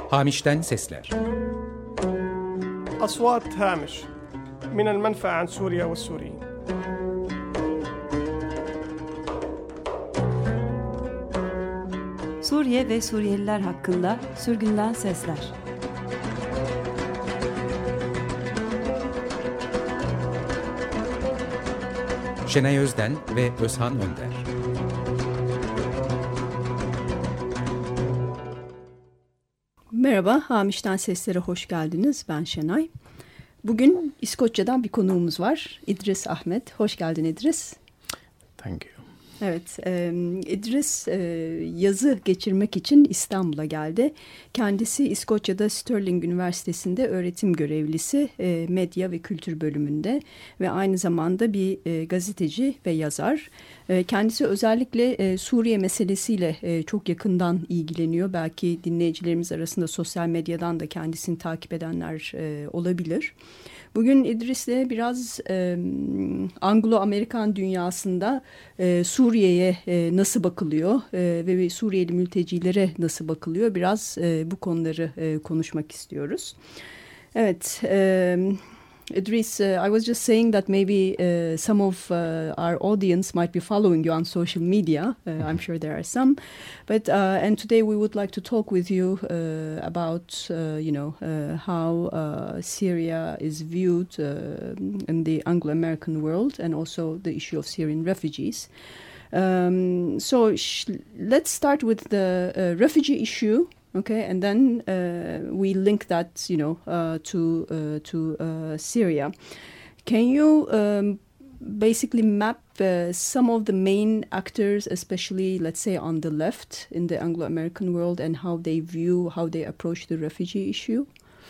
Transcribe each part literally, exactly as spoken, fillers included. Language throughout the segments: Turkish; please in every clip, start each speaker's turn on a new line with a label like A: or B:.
A: Hamiş'ten sesler.
B: أصوات هامش من المنفى عن سوريا والسوريين.
C: Suriye ve Suriyeliler hakkında sürgünden sesler.
A: Şenay Özden ve Özhan Önder.
D: Merhaba, Hamiş'ten Seslere hoş geldiniz. Ben Şenay. Bugün İskoçya'dan bir konuğumuz var. İdris Ahmet. Hoş geldin İdris.
E: Thank you.
D: Evet, e, İdris e, yazı geçirmek için İstanbul'a geldi. Kendisi İskoçya'da Stirling Üniversitesi'nde öğretim görevlisi, e, medya ve kültür bölümünde ve aynı zamanda bir e, gazeteci ve yazar. E, kendisi özellikle e, Suriye meselesiyle e, çok yakından ilgileniyor. Belki dinleyicilerimiz arasında sosyal medyadan da kendisini takip edenler e, olabilir. Bugün İdris'le biraz e, Anglo-Amerikan dünyasında e, Suriye'ye e, nasıl bakılıyor e, ve Suriyeli mültecilere nasıl bakılıyor, biraz e, bu konuları e, konuşmak istiyoruz. Evet, e, Idris, uh, I was just saying that maybe uh, some of uh, our audience might be following you on social media. Uh, I'm sure there are some. But uh, and today we would like to talk with you uh, about, uh, you know, uh, how uh, Syria is viewed uh, in the Anglo-American world, and also the issue of Syrian refugees. Um, so sh- let's start with the uh, refugee issue. Okay, and then uh, we link that, you know, uh, to uh, to uh, Syria. Can you um, basically map uh, some of the main actors, especially, let's say, on the left in the Anglo-American world, and how they view, how they approach the refugee issue?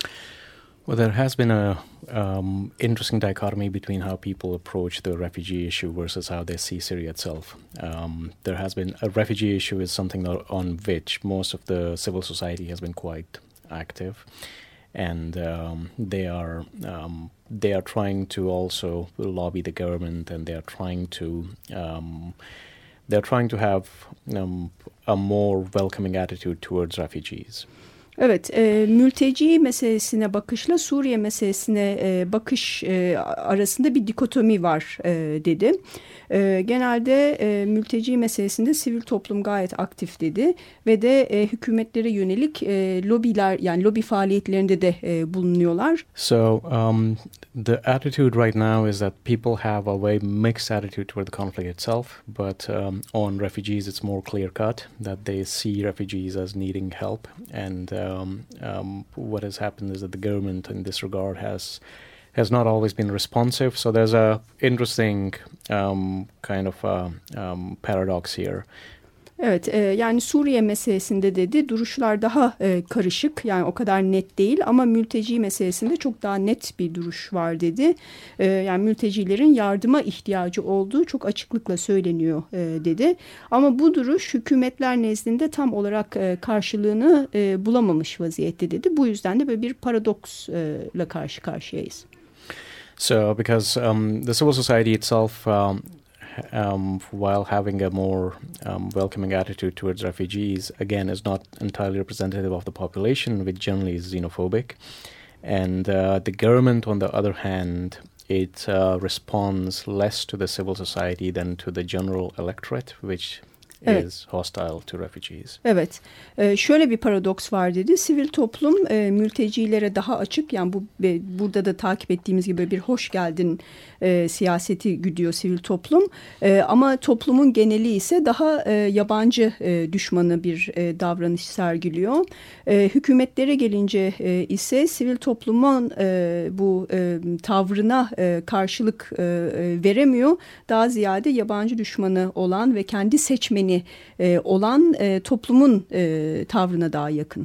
E: Well, there has been a um, interesting dichotomy between how people approach the refugee issue versus how they see Syria itself. Um, there has been a refugee issue is something on which most of the civil society has been quite active, and um, they are um, they are trying to also lobby the government, and they are trying to um, they are trying to have um, a more welcoming attitude towards refugees.
D: Evet, e, mülteci meselesine bakışla Suriye meselesine e, bakış e, arasında bir dikotomi var e, dedi. E, genelde e, mülteci meselesinde sivil toplum gayet aktif dedi ve de e, hükümetlere yönelik e, lobiler, yani lobi faaliyetlerinde de e, bulunuyorlar.
E: So um, the attitude right now is that people have a very mixed attitude toward the conflict itself, but um, on refugees it's more clear cut that they see refugees as needing help, and uh, Um, um, what has happened is that the government in this regard has has not always been responsive. So there's a interesting um, kind of a, um, paradox here.
D: Evet, e, yani Suriye meselesinde dedi duruşlar daha e, karışık, yani o kadar net değil, ama mülteci meselesinde çok daha net bir duruş var dedi. E, yani mültecilerin yardıma ihtiyacı olduğu çok açıklıkla söyleniyor e, dedi. Ama bu duruş hükümetler nezdinde tam olarak e, karşılığını e, bulamamış vaziyette dedi. Bu yüzden de böyle bir paradoksla karşı karşıyayız.
E: So because um, the civil society itself um, Um, while having a more um, welcoming attitude towards refugees, again, is not entirely representative of the population, which generally is xenophobic. And uh, the government, on the other hand, it uh, responds less to the civil society than to the general electorate, which
D: Evet.
E: is hostile to refugees.
D: Evet, ee, şöyle bir paradoks var dedi. Sivil toplum e, mültecilere daha açık, yani bu e, burada da takip ettiğimiz gibi bir hoş geldin e, siyaseti güdüyor sivil toplum. E, ama toplumun geneli ise daha e, yabancı e, düşmanı bir e, davranış sergiliyor. E, hükümetlere gelince e, ise sivil toplumun e, bu e, tavrına e, karşılık e, veremiyor. Daha ziyade yabancı düşmanı olan ve kendi seçmeni E, olan e, toplumun e, tavrına daha yakın.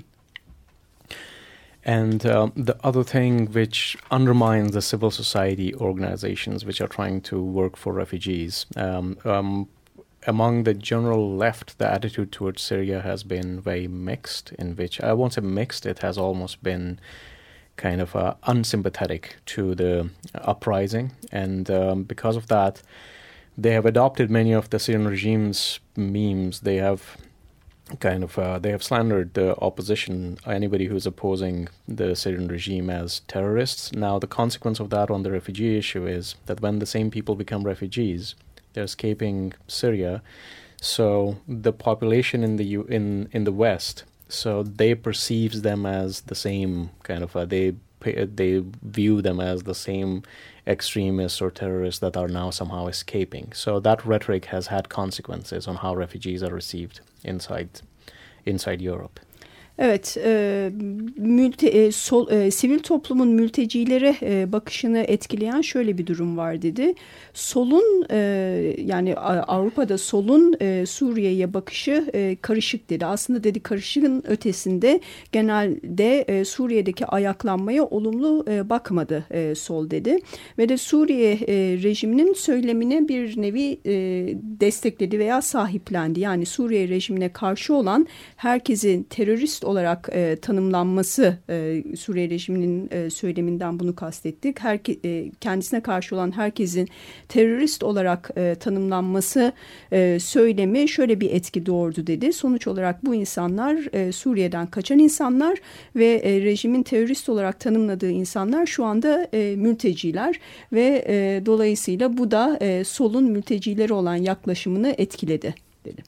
E: And um, the other thing which undermines the civil society organizations which are trying to work for refugees, um, um, among the general left, the attitude towards Syria has been very mixed, in which I won't say mixed, it has almost been kind of uh, unsympathetic to the uprising, and um, because of that, they have adopted many of the Syrian regime's memes. They have kind of uh, they have slandered the opposition, anybody who's opposing the Syrian regime, as terrorists. Now, the consequence of that on the refugee issue is that when the same people become refugees, they're escaping Syria. So the population in the U- in in the West, so they perceives them as the same kind of uh, they they view them as the same extremists or terrorists that are now somehow escaping. So that rhetoric has had consequences on how refugees are received inside inside Europe.
D: Evet, e, mülte, e, sol, e, sivil toplumun mültecilere e, bakışını etkileyen şöyle bir durum var dedi. Solun e, yani Avrupa'da solun e, Suriye'ye bakışı e, karışık dedi. Aslında dedi karışığın ötesinde genelde e, Suriye'deki ayaklanmaya olumlu e, bakmadı e, sol dedi. Ve de Suriye e, rejiminin söylemine bir nevi e, destekledi veya sahiplendi. Yani Suriye rejimine karşı olan herkesin terörist olarak e, tanımlanması, e, Suriye rejiminin e, söyleminden bunu kastettik. Herke, e, kendisine karşı olan herkesin terörist olarak e, tanımlanması e, söylemi şöyle bir etki doğurdu dedi. Sonuç olarak bu insanlar e, Suriye'den kaçan insanlar ve e, rejimin terörist olarak tanımladığı insanlar şu anda e, mülteciler ve e, dolayısıyla bu da e, solun mültecileri olan yaklaşımını etkiledi dedi.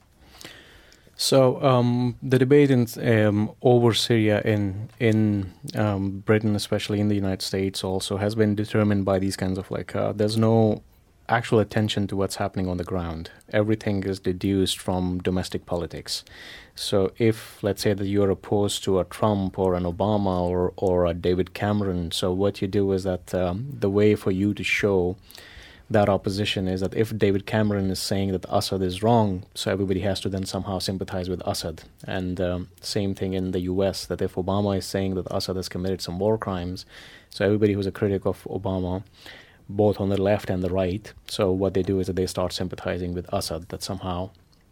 E: So um, the debate in, um, over Syria in in um, Britain, especially in the United States, also has been determined by these kinds of like uh, there's no actual attention to what's happening on the ground. Everything is deduced from domestic politics. So if, let's say, that you're opposed to a Trump or an Obama or or a David Cameron, so what you do is that um, the way for you to show that opposition is that if David Cameron is saying that Assad is wrong, so everybody has to then somehow sympathize with Assad. And um, same thing in the U S, that if Obama is saying that Assad has committed some war crimes, so everybody who's a critic of Obama, both on the left and the right, so what they do is that they start sympathizing with Assad, that somehow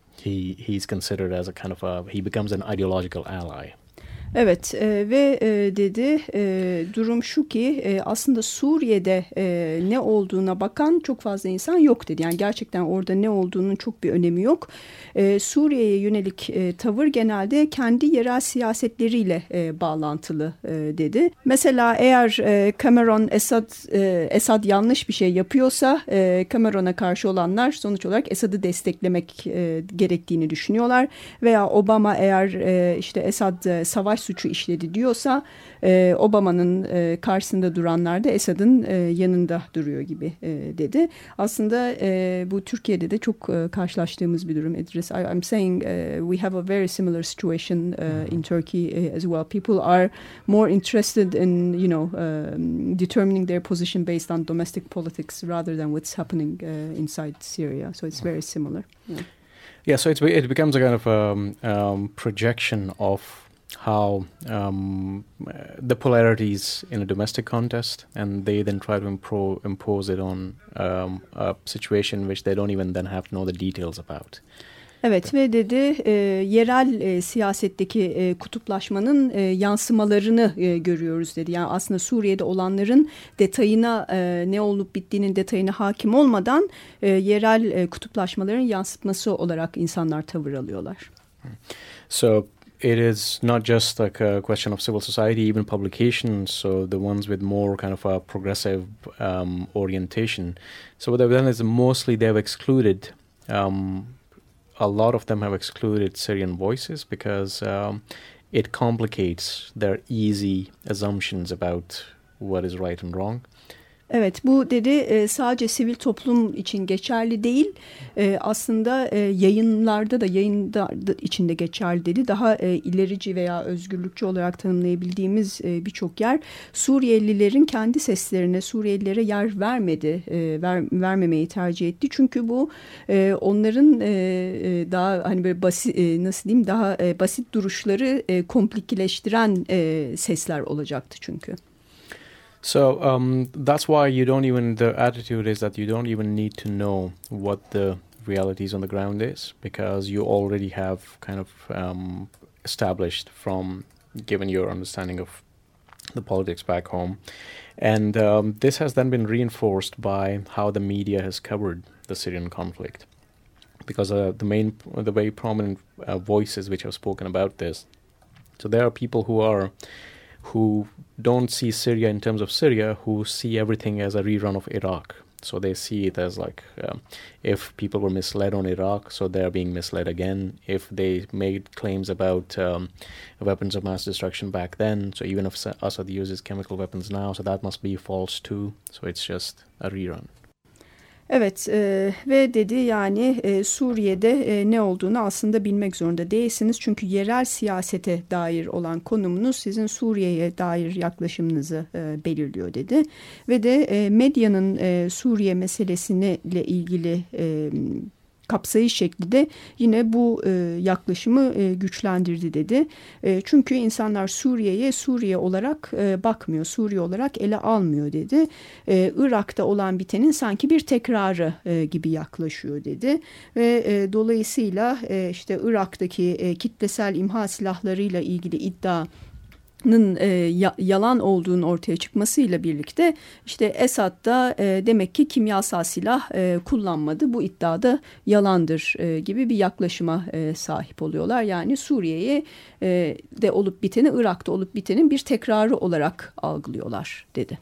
E: he he's considered as a kind of a, he becomes an ideological ally.
D: Evet e, ve e, dedi e, durum şu ki e, aslında Suriye'de e, ne olduğuna bakan çok fazla insan yok dedi. Yani gerçekten orada ne olduğunun çok bir önemi yok. E, Suriye'ye yönelik e, tavır genelde kendi yerel siyasetleriyle e, bağlantılı e, dedi. Mesela eğer e, Cameron Esad, e, Esad yanlış bir şey yapıyorsa e, Cameron'a karşı olanlar sonuç olarak Esad'ı desteklemek e, gerektiğini düşünüyorlar. Veya Obama eğer e, işte Esad e, savaş suçu işledi diyorsa e, Obama'nın e, karşısında duranlar da Esad'ın e, yanında duruyor gibi e, dedi. Aslında e, bu Türkiye'de de çok e, karşılaştığımız bir durum. Idris, I, I'm saying uh, we have a very similar situation uh, in Turkey uh, as well. People are more interested in, you know, um, determining their position based on domestic politics rather than what's happening uh, inside Syria. So it's very similar. Yeah,
E: yeah so it's, it becomes a kind of um, um, projection of how um, the polarities in a domestic contest, and they then try to impro- impose it on um, a situation which they don't even then have to know the details about.
D: Evet ve dedi e, yerel e, siyasetteki e, kutuplaşmanın e, yansımalarını e, görüyoruz dedi. Yani aslında Suriye'de olanların detayına e, ne olup bittiğinin detayına hakim olmadan e, yerel e, kutuplaşmaların yansıtması olarak insanlar tavır alıyorlar.
E: So it is not just like a question of civil society, even publications, so the ones with more kind of a progressive um, orientation. So what they've done is mostly they've excluded, um, a lot of them have excluded Syrian voices because um, it complicates their easy assumptions about what is right and wrong.
D: Evet, bu dedi sadece sivil toplum için geçerli değil, aslında yayınlarda da yayında içinde geçerli dedi. Daha ilerici veya özgürlükçü olarak tanımlayabildiğimiz birçok yer Suriyelilerin kendi seslerine, Suriyelilere yer vermedi, ver, vermemeyi tercih etti. Çünkü bu onların daha hani böyle basit, nasıl diyeyim, daha basit duruşları komplikeştiren sesler olacaktı çünkü.
E: So um, that's why you don't even, the attitude is that you don't even need to know what the realities on the ground is, because you already have kind of um, established from, given your understanding of the politics back home. And um, this has then been reinforced by how the media has covered the Syrian conflict. because uh, the main, the very prominent uh, voices which have spoken about this. So there are people who are, who don't see Syria in terms of Syria, who see everything as a rerun of Iraq. So they see it as like, um, if people were misled on Iraq, so they're being misled again. If they made claims about um, weapons of mass destruction back then, so even if Assad uses chemical weapons now, so that must be false too. So it's just a rerun.
D: Evet e, ve dedi yani e, Suriye'de e, ne olduğunu aslında bilmek zorunda değilsiniz. Çünkü yerel siyasete dair olan konumunuz sizin Suriye'ye dair yaklaşımınızı e, belirliyor dedi. Ve de e, medyanın e, Suriye meselesiyle ilgili e, kapsayış şekli de yine bu e, yaklaşımı e, güçlendirdi dedi. E, çünkü insanlar Suriye'ye Suriye olarak e, bakmıyor, Suriye olarak ele almıyor dedi. E, Irak'ta olan bitenin sanki bir tekrarı e, gibi yaklaşıyor dedi. Ve e, dolayısıyla e, işte Irak'taki e, kitlesel imha silahlarıyla ilgili iddia E, ya, yalan olduğunun ortaya çıkmasıyla birlikte işte Esad da e, demek ki kimyasal silah e, kullanmadı. Bu iddiada yalandır e, gibi bir yaklaşıma e, sahip oluyorlar. Yani Suriye'ye e, de olup biteni, Irak'ta olup bitenin bir tekrarı olarak algılıyorlar dedi.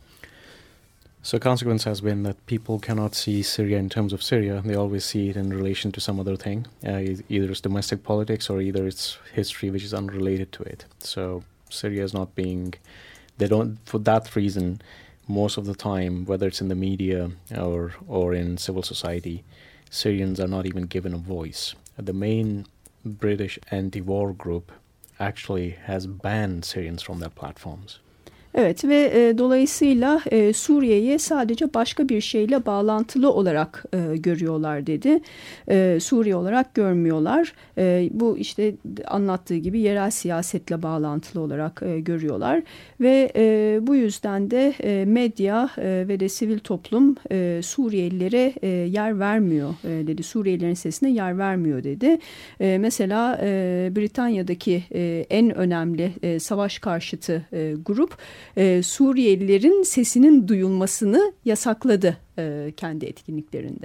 E: So consequence has been that people cannot see Syria in terms of Syria. They always see it in relation to some other thing. Uh, either it's domestic politics or either it's history which is unrelated to it. So Syria is not being, they don't, for that reason, most of the time, whether it's in the media or or in civil society, Syrians are not even given a voice. The main British anti-war group actually has banned Syrians from their platforms.
D: Evet ve e, dolayısıyla e, Suriye'yi sadece başka bir şeyle bağlantılı olarak e, görüyorlar dedi. E, Suriye olarak görmüyorlar. E, bu işte anlattığı gibi yerel siyasetle bağlantılı olarak e, görüyorlar. Ve e, bu yüzden de e, medya e, ve de sivil toplum e, Suriyelilere e, yer vermiyor e, dedi. Suriyelilerin sesine yer vermiyor dedi. E, mesela e, Britanya'daki e, en önemli e, savaş karşıtı e, grup Ee, Suriyelilerin sesinin duyulmasını yasakladı e, kendi etkinliklerinde.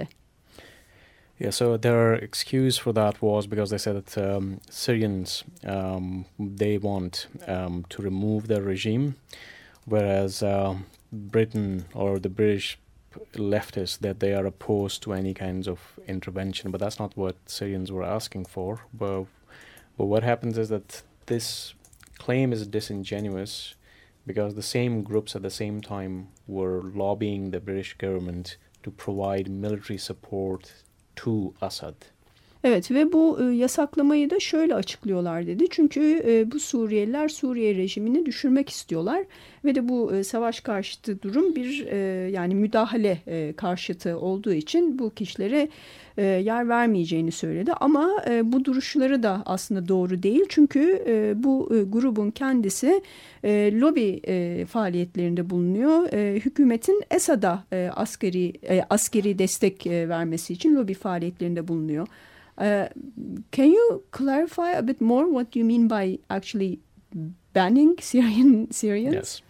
E: Yeah, so their excuse for that was because they said that um, Syrians, um, they want um, to remove their regime, whereas uh, Britain or the British leftists, that they are opposed to any kinds of intervention. But that's not what Syrians were asking for. But, but what happens is that this claim is disingenuous, because the same groups at the same time were lobbying the British government to provide military support to Assad.
D: Evet ve bu e, yasaklamayı da şöyle açıklıyorlar dedi. Çünkü e, bu Suriyeliler Suriye rejimini düşürmek istiyorlar ve de bu e, savaş karşıtı durum bir e, yani müdahale e, karşıtı olduğu için bu kişilere e, yer vermeyeceğini söyledi. Ama e, bu duruşları da aslında doğru değil. Çünkü e, bu e, grubun kendisi e, lobi e, faaliyetlerinde bulunuyor. E, hükümetin Esad'a e, askeri e, askeri destek e, vermesi için lobi faaliyetlerinde bulunuyor. Uh, can you clarify a bit more what you mean by actually banning Syrian Syrians?
E: Yes.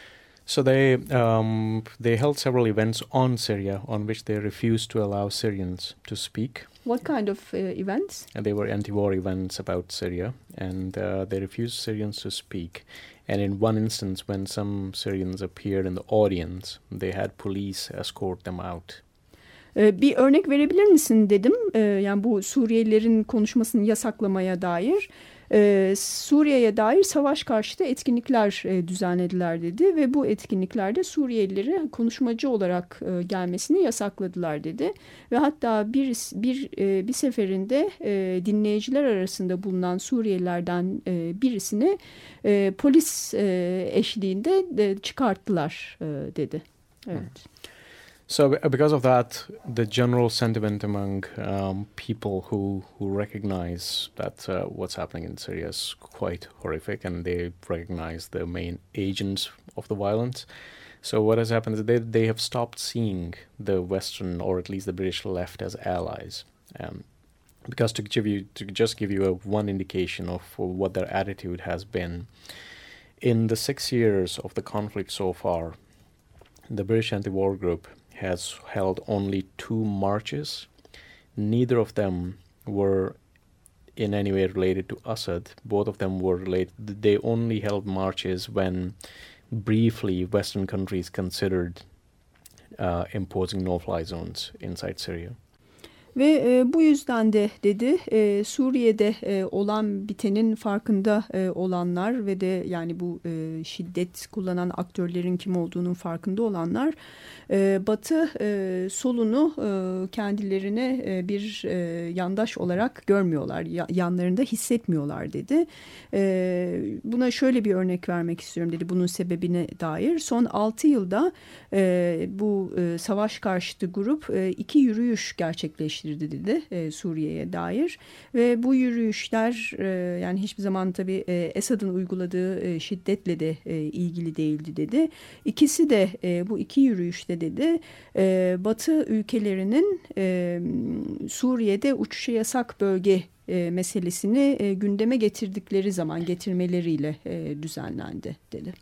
E: So they um, they held several events on Syria on which they refused to allow Syrians to speak.
D: What kind of uh, events?
E: And they were anti-war events about Syria, and uh, they refused Syrians to speak. And in one instance, when some Syrians appeared in the audience, they had police escort them out.
D: Bir örnek verebilir misin dedim. Yani bu Suriyelilerin konuşmasını yasaklamaya dair. Suriye'ye dair savaş karşıtı etkinlikler düzenlediler dedi. Ve bu etkinliklerde Suriyelileri konuşmacı olarak gelmesini yasakladılar dedi. Ve hatta bir bir bir seferinde dinleyiciler arasında bulunan Suriyelilerden birisini polis eşliğinde çıkarttılar dedi. Evet. Hmm.
E: So because of that, the general sentiment among um, people who, who recognize that uh, what's happening in Syria is quite horrific, and they recognize the main agents of the violence. So what has happened is they, they have stopped seeing the Western, or at least the British left, as allies. Um, because to give you, to just give you a, one indication of what their attitude has been, in the six years of the conflict so far, the British anti-war group has held only two marches. neither of them were in any way related to Assad. Both of them were related. They only held marches when briefly Western countries considered uh, imposing no-fly zones inside Syria.
D: Ve e, bu yüzden de dedi e, Suriye'de e, olan bitenin farkında e, olanlar ve de yani bu e, şiddet kullanan aktörlerin kim olduğunun farkında olanlar e, Batı e, solunu e, kendilerine e, bir e, yandaş olarak görmüyorlar, ya, yanlarında hissetmiyorlar dedi. E, buna şöyle bir örnek vermek istiyorum dedi bunun sebebine dair. Son altı yılda e, bu e, savaş karşıtı grup e, iki yürüyüş gerçekleştirdi dedi e, Suriye'ye dair ve bu yürüyüşler e, yani hiçbir zaman tabii e, Esad'ın uyguladığı e, şiddetle de e, ilgili değildi dedi. İkisi de e, bu iki yürüyüşte dedi e, Batı ülkelerinin e, Suriye'de uçuşa yasak bölge e, meselesini e, gündeme getirdikleri zaman getirmeleriyle e, düzenlendi dedi.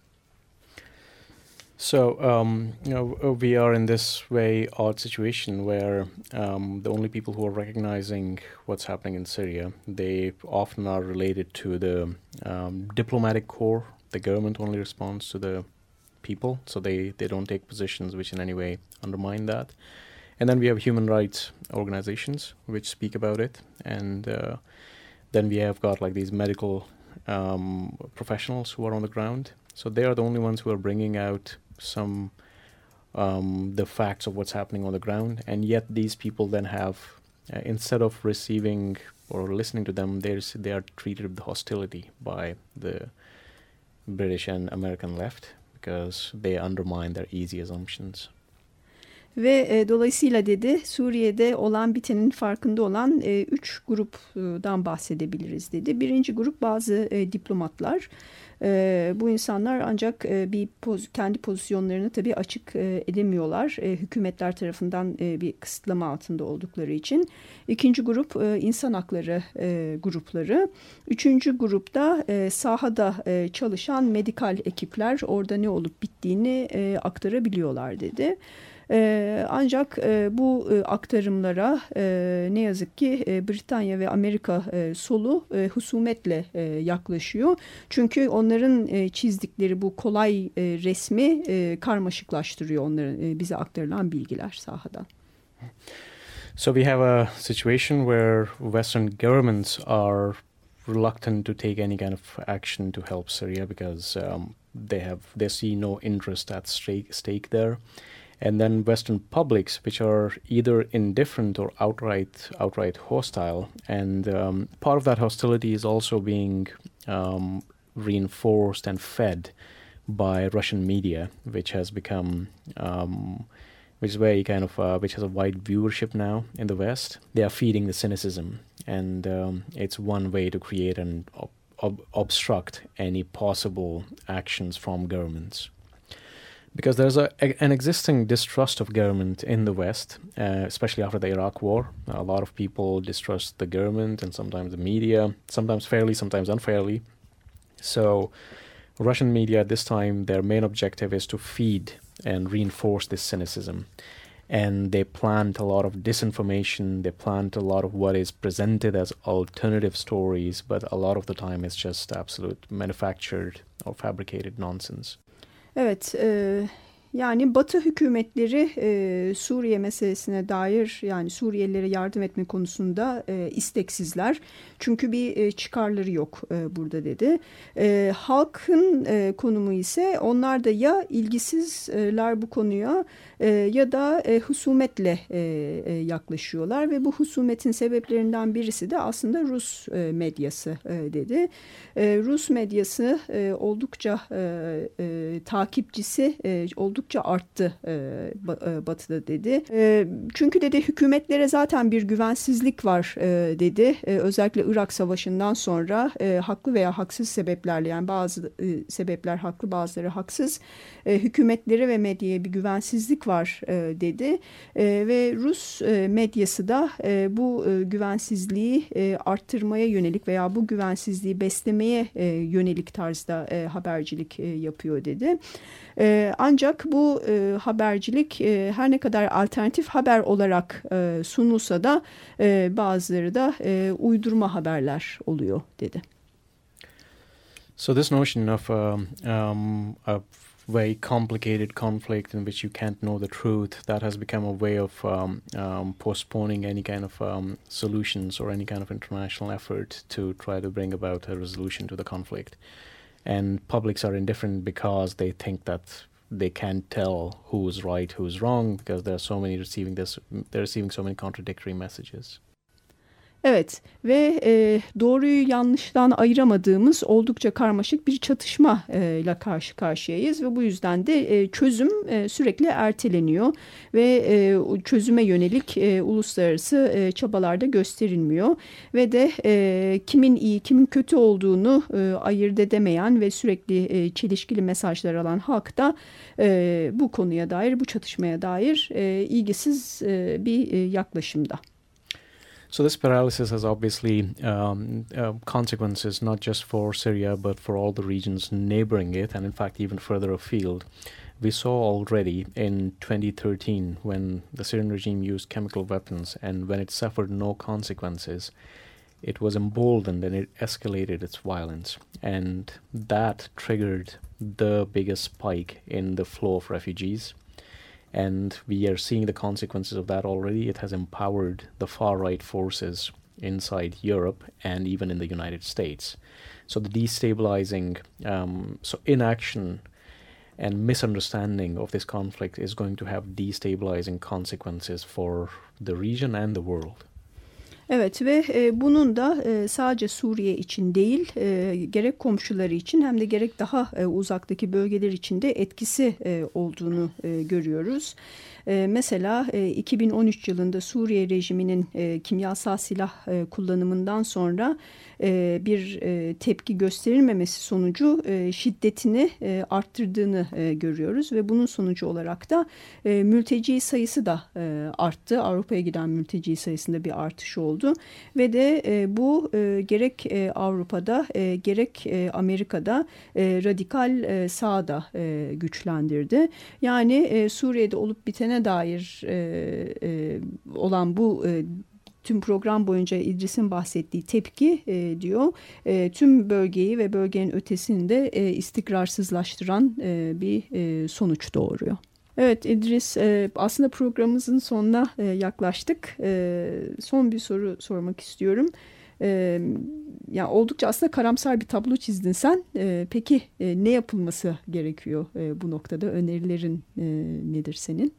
E: So um, you know, we are in this way odd situation where um, the only people who are recognizing what's happening in Syria, they often are related to the um, diplomatic corps. The government only responds to the people, so they, they don't take positions which in any way undermine that. And then we have human rights organizations which speak about it, and uh, then we have got like these medical um, professionals who are on the ground. So they are the only ones who are bringing out some um, the facts of what's happening on the ground, and yet these people then have uh, instead of receiving or listening to them, there's they are treated with hostility by the British and American left because they undermine their easy assumptions.
D: Ve e, dolayısıyla dedi Suriye'de olan bitenin farkında olan e, üç gruptan bahsedebiliriz dedi. Birinci grup bazı e, diplomatlar. E, bu insanlar ancak e, bir poz, kendi pozisyonlarını tabii açık e, edemiyorlar. E, hükümetler tarafından e, bir kısıtlama altında oldukları için. İkinci grup e, insan hakları e, grupları. Üçüncü grupta e, sahada e, çalışan medikal ekipler orada ne olup bittiğini e, aktarabiliyorlar dedi. Ee, ancak e, bu e, aktarımlara e, ne yazık ki e, Britanya ve Amerika e, solu e, husumetle e, yaklaşıyor. Çünkü onların e, çizdikleri bu kolay e, resmi e, karmaşıklaştırıyor onların e, bize aktarılan bilgiler sahadan.
E: So we have a situation where Western governments are reluctant to take any kind of action to help Syria because um, they have they see no interest at stake, stake there. And then Western publics, which are either indifferent or outright outright hostile. And um, part of that hostility is also being um, reinforced and fed by Russian media, which has become, um, which is very kind of, uh, which has a wide viewership now in the West. They are feeding the cynicism, and um, it's one way to create and ob- ob- obstruct any possible actions from governments. Because there's a, a, an existing distrust of government in the West, uh, especially after the Iraq War. A lot of people distrust the government and sometimes the media, sometimes fairly, sometimes unfairly. So Russian media at this time, their main objective is to feed and reinforce this cynicism. And they plant a lot of disinformation, they plant a lot of what is presented as alternative stories, but a lot of the time it's just absolute manufactured or fabricated nonsense.
D: Evet, e, yani Batı hükümetleri e, Suriye meselesine dair yani Suriyelilere yardım etme konusunda e, isteksizler. Çünkü bir e, çıkarları yok e, burada dedi. E, halkın e, konumu ise onlar da ya ilgisizler bu konuya e, ya da e, husumetle e, e, yaklaşıyorlar ve bu husumetin sebeplerinden birisi de aslında Rus e, medyası e, dedi. E, Rus medyası e, oldukça e, e, takipçisi e, oldukça arttı e, Batı'da dedi. E, çünkü dedi hükümetlere zaten bir güvensizlik var e, dedi. E, özellikle Irak Savaşı'ndan sonra e, haklı veya haksız sebeplerle yani bazı e, sebepler haklı bazıları haksız e, hükümetlere ve medyaya bir güvensizlik var e, dedi. E, ve Rus e, medyası da e, bu e, güvensizliği e, arttırmaya yönelik veya bu güvensizliği beslemeye e, yönelik tarzda e, habercilik e, yapıyor dedi. E, ancak Ama bu e, habercilik e, her ne kadar alternatif haber olarak e, sunulsa da e, bazıları da e, uydurma haberler oluyor dedi.
E: So this notion of um, um, a very complicated conflict in which you can't know the truth, that has become a way of um, um, postponing any kind of um, solutions or any kind of international effort to try to bring about a resolution to the conflict. And publics are indifferent because they think that they can't tell who's right, who's wrong, because there are so many receiving this, they're receiving so many contradictory messages.
D: Evet ve e, doğruyu yanlıştan ayıramadığımız oldukça karmaşık bir çatışma e, ile karşı karşıyayız ve bu yüzden de e, çözüm e, sürekli erteleniyor ve e, çözüme yönelik e, uluslararası e, çabalarda gösterilmiyor ve de e, kimin iyi kimin kötü olduğunu e, ayırt edemeyen ve sürekli e, çelişkili mesajlar alan halk da e, bu konuya dair, bu çatışmaya dair e, ilgisiz e, bir e, yaklaşımda.
E: So this paralysis has obviously um, uh, consequences not just for Syria but for all the regions neighboring it, and in fact even further afield. We saw already in twenty thirteen when the Syrian regime used chemical weapons, and when it suffered no consequences, it was emboldened and it escalated its violence, and that triggered the biggest spike in the flow of refugees. And we are seeing the consequences of that already. It has empowered the far-right forces inside Europe and even in the United States. So the destabilizing, um, so inaction and misunderstanding of this conflict is going to have destabilizing consequences for the region and the world.
D: Evet ve e, bunun da e, sadece Suriye için değil, e, gerek komşuları için hem de gerek daha e, uzaktaki bölgeler için de etkisi e, olduğunu e, görüyoruz. E, mesela e, iki bin on üç yılında Suriye rejiminin e, kimyasal silah e, kullanımından sonra e, bir e, tepki gösterilmemesi sonucu e, şiddetini e, arttırdığını e, görüyoruz ve bunun sonucu olarak da e, mülteci sayısı da e, arttı. Avrupa'ya giden mülteci sayısında bir artış oldu ve de e, bu e, gerek e, Avrupa'da e, gerek e, Amerika'da e, radikal e, sağda e, güçlendirdi. Yani e, Suriye'de olup bitene dair e, e, olan bu e, tüm program boyunca İdris'in bahsettiği tepki e, diyor e, tüm bölgeyi ve bölgenin ötesini de e, istikrarsızlaştıran e, bir e, sonuç doğuruyor. Evet İdris, e, aslında programımızın sonuna e, yaklaştık. E, son bir soru sormak istiyorum. E, yani oldukça aslında karamsar bir tablo çizdin sen. E, peki e, ne yapılması gerekiyor e, bu noktada? Önerilerin e, nedir senin?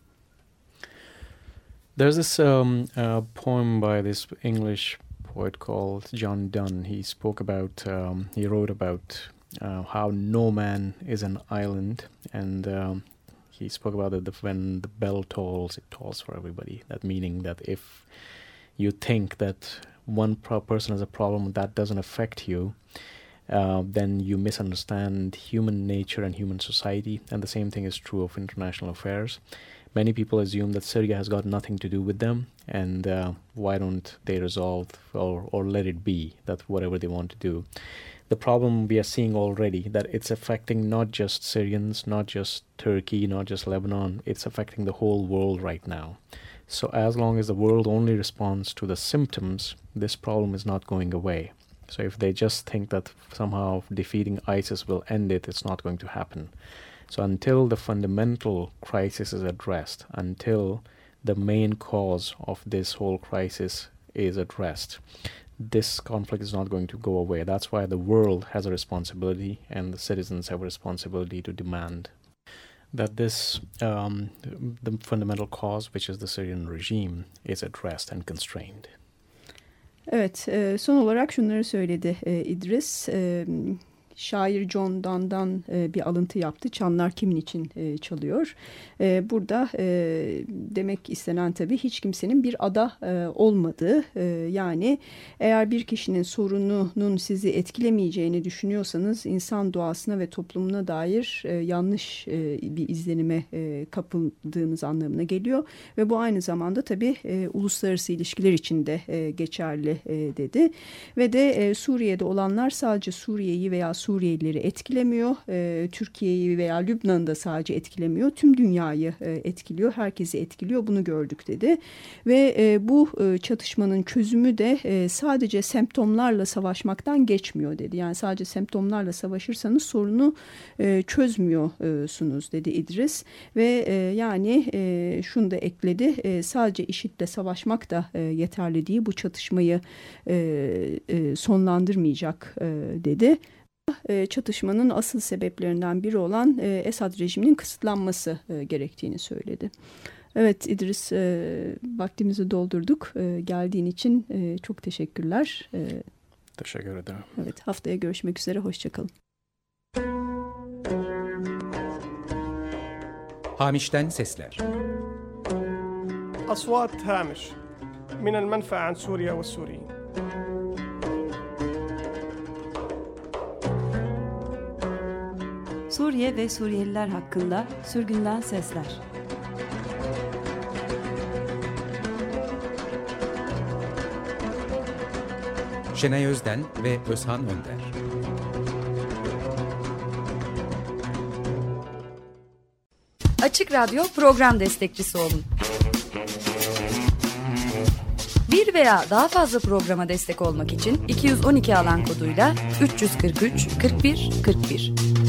E: There's this um, uh, poem by this English poet called John Donne. He spoke about, um, he wrote about uh, how no man is an island, and um, he spoke about it, the, when the bell tolls, it tolls for everybody. That meaning that if you think that one pro- person has a problem that doesn't affect you, uh, then you misunderstand human nature and human society, and the same thing is true of international affairs. Many people assume that Syria has got nothing to do with them, and uh, why don't they resolve or, or let it be, that whatever they want to do. The problem we are seeing already, that it's affecting not just Syrians, not just Turkey, not just Lebanon, it's affecting the whole world right now. So as long as the world only responds to the symptoms, this problem is not going away. So if they just think that somehow defeating ISIS will end it, it's not going to happen. So until the fundamental crisis is addressed, until the main cause of this whole crisis is addressed, this conflict is not going to go away. That's why the world has a responsibility and the citizens have a responsibility to demand that this, um, the fundamental cause, which is the Syrian regime, is addressed and constrained.
D: Evet, son olarak şunları söyledi İdris. Şair John Donne'dan e, bir alıntı yaptı. Çanlar kimin için e, çalıyor? E, burada e, demek istenen tabii hiç kimsenin bir ada e, olmadığı. E, yani eğer bir kişinin sorununun sizi etkilemeyeceğini düşünüyorsanız insan doğasına ve toplumuna dair e, yanlış e, bir izlenime e, kapıldığınız anlamına geliyor. Ve bu aynı zamanda tabii e, uluslararası ilişkiler için de e, geçerli e, dedi. Ve de e, Suriye'de olanlar sadece Suriye'yi veya Suriyelileri etkilemiyor. E, Türkiye'yi veya Lübnan'ı da sadece etkilemiyor. Tüm dünyayı e, etkiliyor. Herkesi etkiliyor. Bunu gördük dedi. Ve e, bu e, çatışmanın çözümü de e, sadece semptomlarla savaşmaktan geçmiyor dedi. Yani sadece semptomlarla savaşırsanız sorunu e, çözmüyorsunuz dedi İdris. Ve e, yani e, şunu da ekledi. E, sadece IŞİD'le savaşmak da e, yeterli değil. Bu çatışmayı e, e, sonlandırmayacak e, dedi. E, çatışmanın asıl sebeplerinden biri olan e, Esad rejiminin kısıtlanması e, gerektiğini söyledi. Evet İdris, e, vaktimizi doldurduk. E, geldiğin için e, çok teşekkürler. E,
E: Teşekkür ederim.
D: Evet, haftaya görüşmek üzere. Hoşçakalın.
A: Hamiş'ten sesler.
B: أصوات هامش من المنفى عن سوريا والسوريين.
C: Suriye ve Suriyeliler hakkında sürgünden sesler.
A: Şenay Özden ve Özhan Önder.
F: Açık Radyo program destekçisi olun. Bir veya daha fazla programa destek olmak için iki yüz on iki alan koduyla üç yüz kırk üç kırk bir kırk bir